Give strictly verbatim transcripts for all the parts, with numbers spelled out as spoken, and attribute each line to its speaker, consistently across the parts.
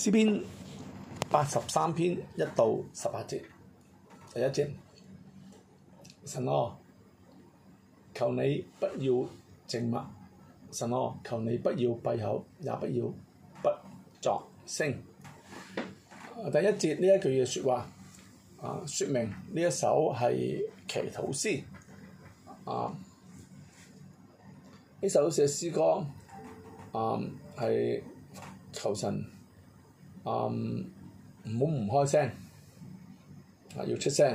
Speaker 1: 詩篇八十三篇一到十八節，第一節，神啊，求你不要靜默，神啊，求你不要閉口，也不要不作聲。第一節呢一句嘅説話啊，説明呢一首係祈禱詩啊。呢首寫詩歌啊係求神啊唔好唔開聲啊，要出聲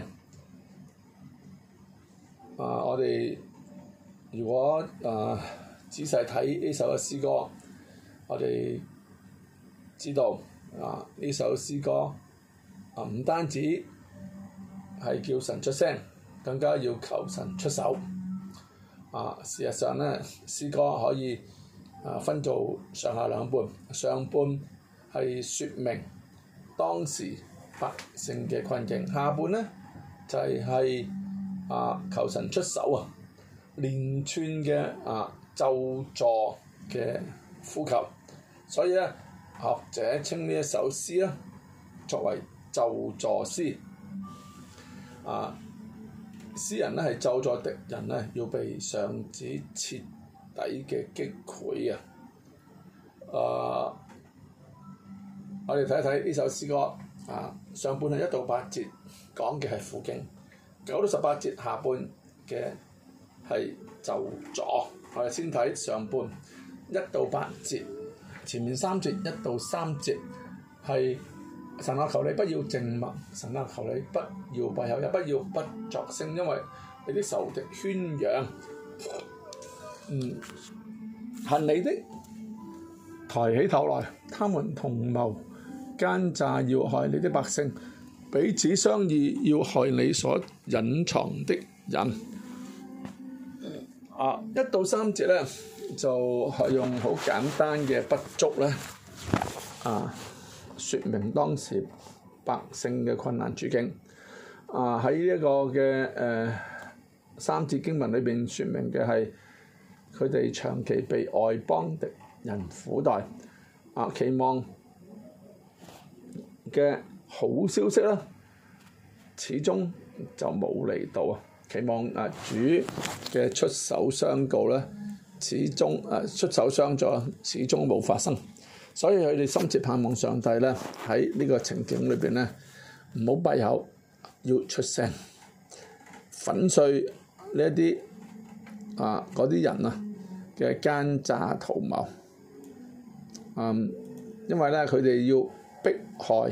Speaker 1: 啊！我哋如果啊仔細睇呢首嘅詩歌，我哋知道啊呢首詩歌啊唔單止係叫神出聲，更加要求神出手。啊，事實上咧，詩歌可以啊分做上下兩半，上半係説明當時百姓嘅困境，下半咧就係、係、啊求神出手啊，連串嘅啊咒詛嘅呼求，所以咧學者稱呢一首詩咧作為咒詛詩啊。詩人咧係咒詛敵人咧，要被上主徹底嘅擊潰啊！誒，我哋睇一睇呢首詩歌啊，上半係一到八節講嘅係苦境，九到十八節下半嘅係咒詛。我哋先睇上半一到八節，前面三節一到三節係神啊，求你不要靜默，神啊，求你不要閉口，也不要不作聲，因為你啲仇敵喧嚷，嗯，恨你的抬起頭來，他們同謀奸詐，要害你的百姓，彼此商議，要害你所隱藏的人。啊，一到三節咧，就係用好簡單嘅筆觸咧，啊。説明當時百姓嘅困難處境，啊喺呢一個嘅誒、呃、三節經文裏邊説明嘅係佢哋長期被外邦敵人苦待，啊期望嘅好消息啦，始終就冇嚟到啊！期望啊主嘅出手相告咧，始終啊出手相助，始終冇發生。所以佢哋深切盼望上帝咧喺呢個情景裏邊咧，唔好閉口，要出聲，粉碎呢一啲啊嗰啲人啊嘅奸詐圖謀。嗯，因為咧佢哋要迫害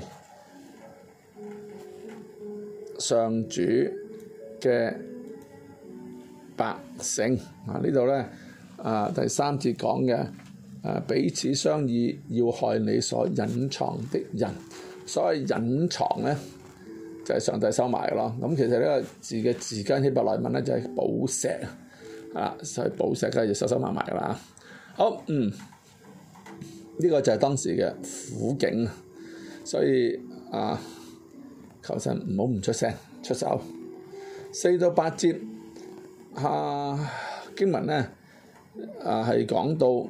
Speaker 1: 上主嘅百姓啊！呢度咧啊第三節講嘅。誒彼此商議，要害你所隱藏的人。所謂隱藏咧，就係、是、上帝收埋嘅咯。咁其實呢個字嘅字根希伯來文咧就係寶石啊，所以寶石梗係要收收埋埋㗎啦。好，嗯，呢、這個就係當時嘅苦境，所以啊，求神唔好唔出聲出手。四到八節啊經文咧啊係講到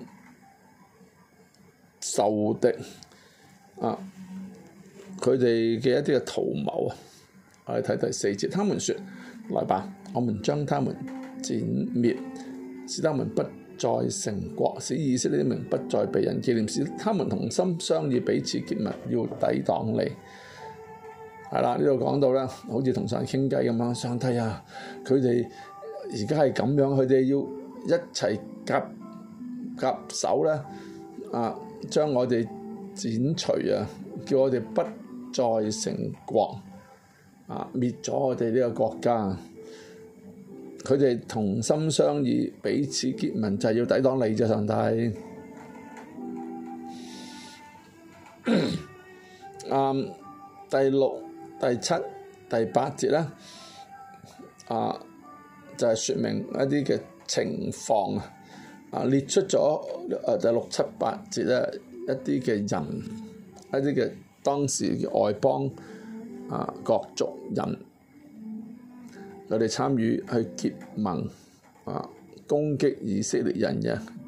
Speaker 1: 仇敵啊，佢哋嘅一啲嘅圖謀啊，我哋睇第四節，他們說：來吧，我們將他們剪滅，使他們不再成國，使以色列的名不再被人紀念，使他們同心商議，彼此結盟，要抵擋你。係啦，呢度講到咧，好似同上帝傾偈咁樣，上帝啊，佢哋而家係咁樣，佢哋要一齊夾夾手咧，啊！將我哋剪除啊！叫我哋不再成國啊！滅咗我哋呢個國家。佢哋同心商議，彼此結盟，就係、是、要抵擋你啫，上帝。嗯，第六、第七、第八節咧，啊，就係、是、説明一啲嘅情況啊。啊！列出咗誒第六七八節咧，一啲嘅人，一啲嘅當時嘅外邦啊各族人，佢哋參與去結盟啊攻擊以色列人嘅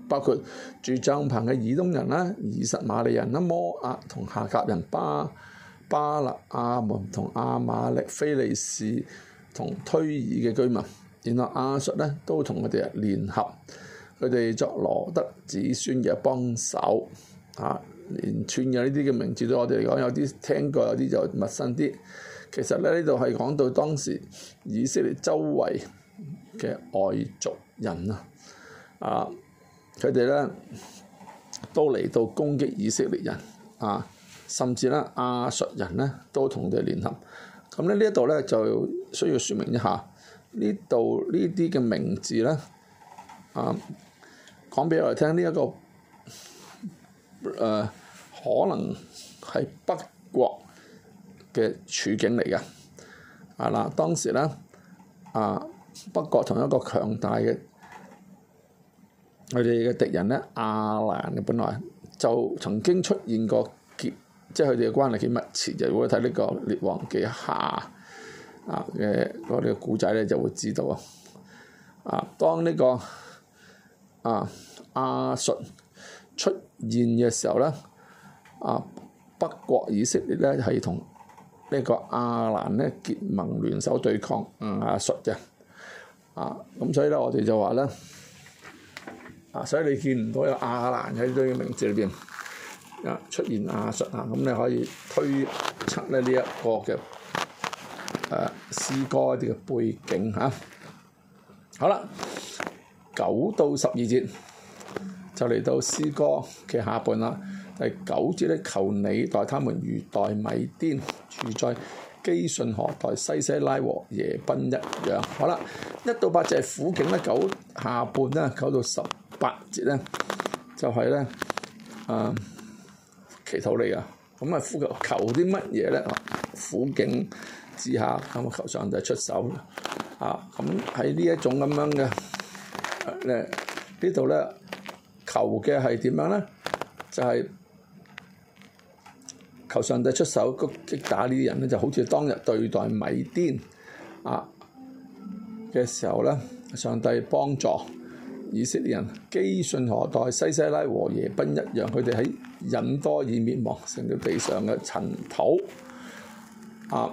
Speaker 1: 包括住帳棚嘅以東人啦、以實瑪利人啦、摩押同夏甲人、巴巴勒亞門同亞瑪力、非利士同推爾嘅居民。然後亞述咧都同佢哋聯合，佢哋作羅德子孫嘅幫手。啊，連串嘅呢啲嘅名字對我哋嚟講有啲聽過，有啲就陌生啲。其實咧呢度係講到當時以色列周圍嘅外族人啊，啊，佢哋咧都嚟到攻擊以色列人啊，甚至咧亞述人咧都同佢哋聯合。咁咧呢一度咧就需要説明一下，呢度呢啲嘅名字咧啊，講俾我哋聽呢一個誒、呃、可能係北國嘅處境嚟嘅。啊嗱，當時咧啊北國同一個強大嘅佢哋嘅敵人咧亞蘭嘅，本來就曾經出現過結，即係佢哋嘅關係幾密切。就如果睇呢個列王記下啊嘅嗰啲古仔咧，就會知道啊。啊，當呢、這個啊亞述出現嘅時候咧，啊北國以色列咧係同呢個亞蘭咧結盟聯手對抗亞述嘅。啊咁所以咧我哋就話咧，啊所以你見唔到有亞蘭喺呢啲名字裏邊啊出現亞述啊，咁你可以推測咧呢一個嘅誒詩歌一啲嘅背景嚇。好啦，九到十二節就嚟到詩歌嘅下半啦。第九節咧，求你待他們如待米甸，住在基順河待西西拉和耶賓一樣。好啦，一到八節係苦境咧，九下半咧，九到十八節咧就係咧啊祈禱嚟噶。咁啊，呼求求啲乜嘢咧？苦境之下，咁啊求上帝出手啊！咁喺呢一種咁樣嘅誒呢度咧，求嘅係點樣咧？就係、是、求上帝出手擊打呢啲人咧，就好似當日對待米甸啊嘅時候咧，上帝幫助以色列人基順河待西西拉和耶賓一樣，佢哋喺隱多珥滅亡，成咗地上嘅塵土啊！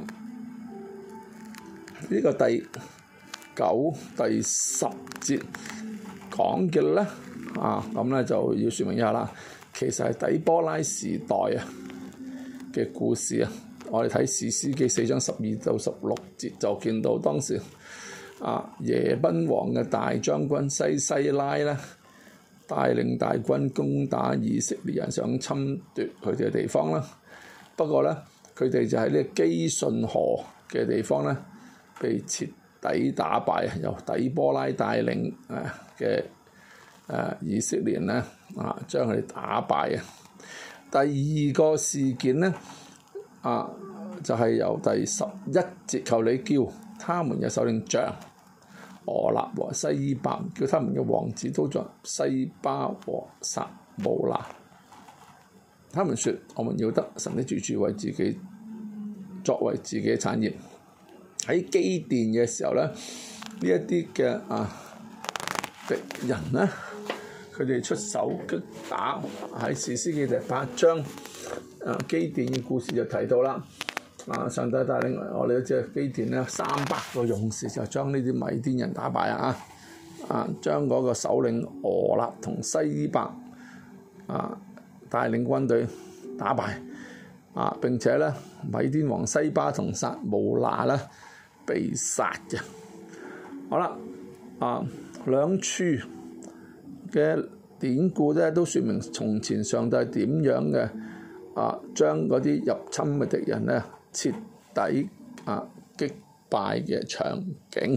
Speaker 1: 呢、這個第九、第十節講嘅咧啊，咁咧就要説明一下啦。其實係底波拉時代啊嘅故事啊，我哋睇士師記四章十二到十六節就見到當時啊耶賓王嘅大將軍西西拉咧帶領大軍攻打以色列人，想侵奪佢哋嘅地方啦。不過咧，佢哋就喺呢個基順河嘅地方咧被徹底打敗，由底波拉帶領啊嘅誒以色列人咧啊將佢哋打敗啊。第二個事件咧啊就係、是、由第十一節，求你叫他們嘅首領長俄立和西巴，叫他們嘅王子都在西巴和撒慕拿。他們說：我們要得神的住處，為自己作為自己嘅產業。喺基甸嘅時候咧，呢一啲嘅啊敵人咧，佢哋出手擊打，喺士師記第八章啊基甸嘅故事就提到啦。啊，上帝帶領我哋嗰隻基甸咧，三百個勇士就將呢啲米甸人打敗啊！啊，將嗰個首領俄立同西巴啊帶領軍隊打敗啊！並且咧，米甸王西巴同撒慕拿咧被殺嘅。好啦，啊兩處嘅典故咧都説明從前上帝點樣嘅啊將嗰啲入侵嘅敵人咧徹底啊擊敗嘅場景。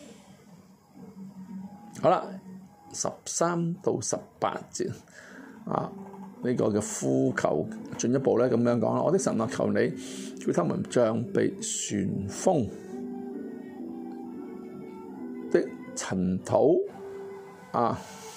Speaker 1: 好啦，十三到十八節啊呢、這個嘅呼求進一步咧咁樣講啦，我的神啊，求你叫他們像被旋風的塵土啊，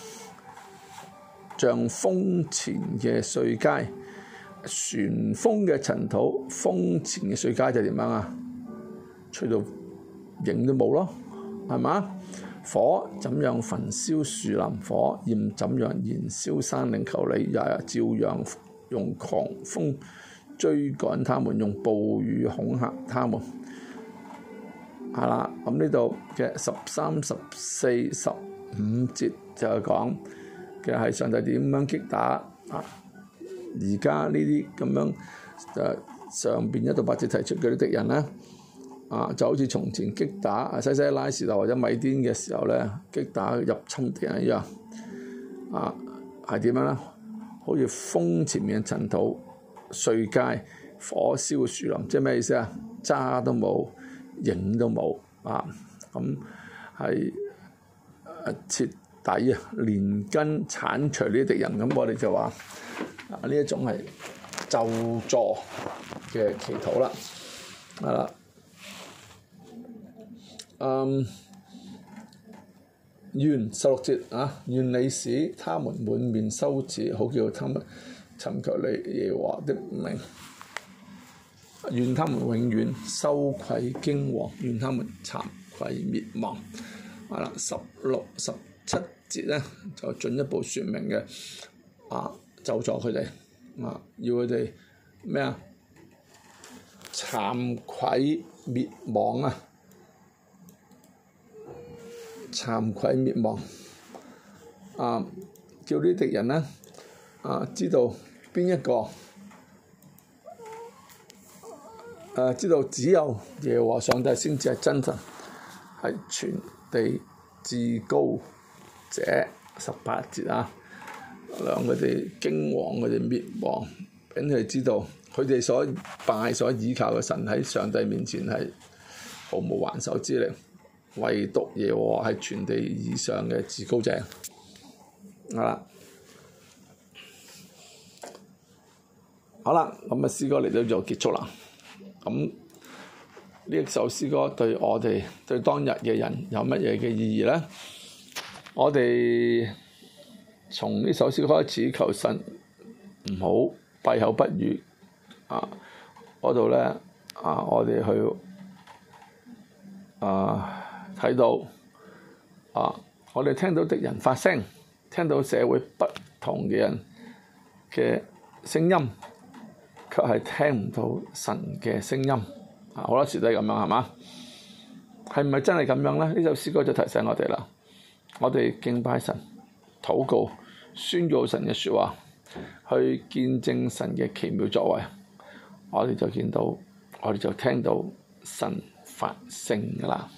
Speaker 1: 像風前嘅碎秸。旋風嘅塵土，風前嘅碎秸就點樣啊？吹到影都冇咯，係嘛？ 火怎樣焚燒樹林，火焰怎樣燃燒山嶺，求你也照樣用狂風追趕他們，用暴雨恐嚇他們。係啦，咁呢度嘅十三、十四、十五節就係講嘅係上帝點樣擊打啊！而家呢啲咁樣誒上邊一到八節提出嘅啲敵人咧，啊就好似從前擊打西西拉時代或者米甸嘅時候咧，擊打入侵敵人一樣。啊係點樣咧？好似風前面嘅塵土碎街，火燒樹林，即係咩意思啊？渣都冇，影都冇啊！咁係誒徹底啊，連根剷除呢啲敵人。咁我哋就話啊，呢一種係咒詛嘅祈禱啦，係啦，嗯，願十六節啊，願你使他們滿面羞恥，好叫他們尋求你耶和華的名。願他們永遠羞愧驚惶，願他們慚愧滅亡。係啦，十六、十七節咧就進一步説明嘅，啊，咒詛佢哋，啊，要佢哋咩啊？慚愧滅亡啊！慚愧滅亡，啊，叫啲敵人咧，啊，知道邊一個？誒、啊、知道只有耶和華上帝先至係真神，係全地至高者。十八節啊，讓佢哋驚惶，佢哋滅亡，俾佢哋知道佢哋所拜所倚靠嘅神喺上帝面前係毫無還手之力，唯獨耶和華係全地以上嘅至高者。好啦，好啦，咁啊詩歌嚟到就結束啦。咁呢一首詩歌對我哋對當日嘅人有乜嘢嘅意義咧？我哋從呢首詩歌開始求神唔好閉口不語啊！嗰度咧啊，我哋去啊睇到啊，我哋聽到敵人發聲，聽到社會不同嘅人嘅聲音，卻係聽唔到神嘅聲音，啊好多時都係咁樣，係嘛？係唔係真係咁樣咧？呢首詩歌就提醒我哋啦，我哋敬拜神、禱告、宣告神嘅説話，去見證神嘅奇妙作為，我哋就見到，我哋就聽到神發聲㗎啦。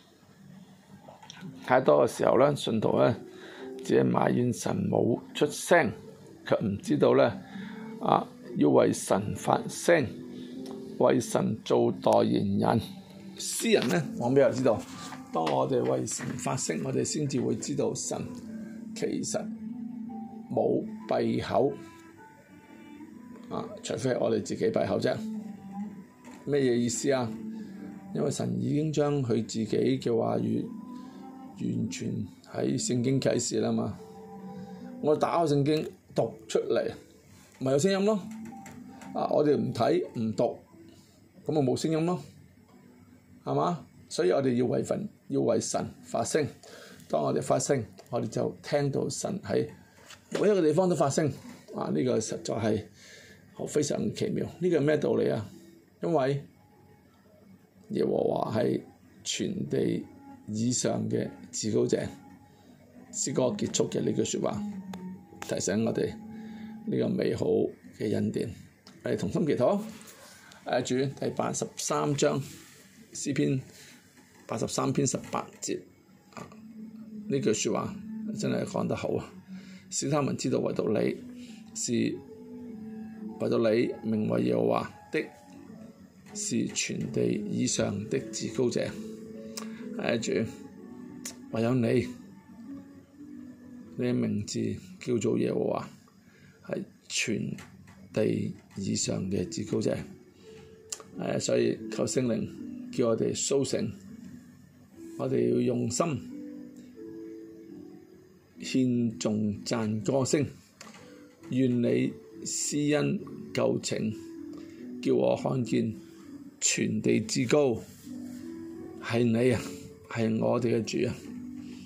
Speaker 1: 太多嘅時候咧，信徒咧只係埋怨神冇出聲，卻唔知道咧啊！要為神發聲，為神做代言人。詩人呢，講俾我知道，當我哋為神發聲，我哋先至會知道神其實冇閉口，啊，除非係我哋自己閉口啫。咩嘢意思啊？因為神已經將佢自己嘅話語完全喺聖經啟示啦嘛。我打開聖經讀出嚟，咪有聲音咯。啊！我哋唔睇唔讀，咁咪冇聲音咯，係嘛？所以我哋要為神，要為神發聲。當我哋發聲，我哋就聽到神喺每一個地方都發聲。啊！呢、這個實在係非常奇妙。呢、這個係咩道理啊？因為耶和華係全地以上嘅至高者。詩歌結束嘅呢句説話，提醒我哋呢個美好嘅恩典。誒同心祈禱，誒主第八十三章詩篇八十三篇十八節，啊呢句説話真係講得好啊！使他們知道唯獨你是唯獨你名為耶和華的，是全地以上的至高者。誒主，唯有你，你嘅名字叫做耶和華，係全地以上嘅至高者，誒，所以求聖靈叫我哋甦醒，我哋要用心獻頌讚歌聲，願你施恩救情，叫我看見全地至高係你啊，係我哋嘅主啊！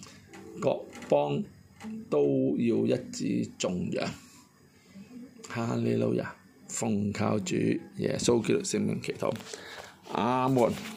Speaker 1: 各邦都要一致頌揚。哈利路亞！奉靠主耶穌基督聖名祈禱，阿門。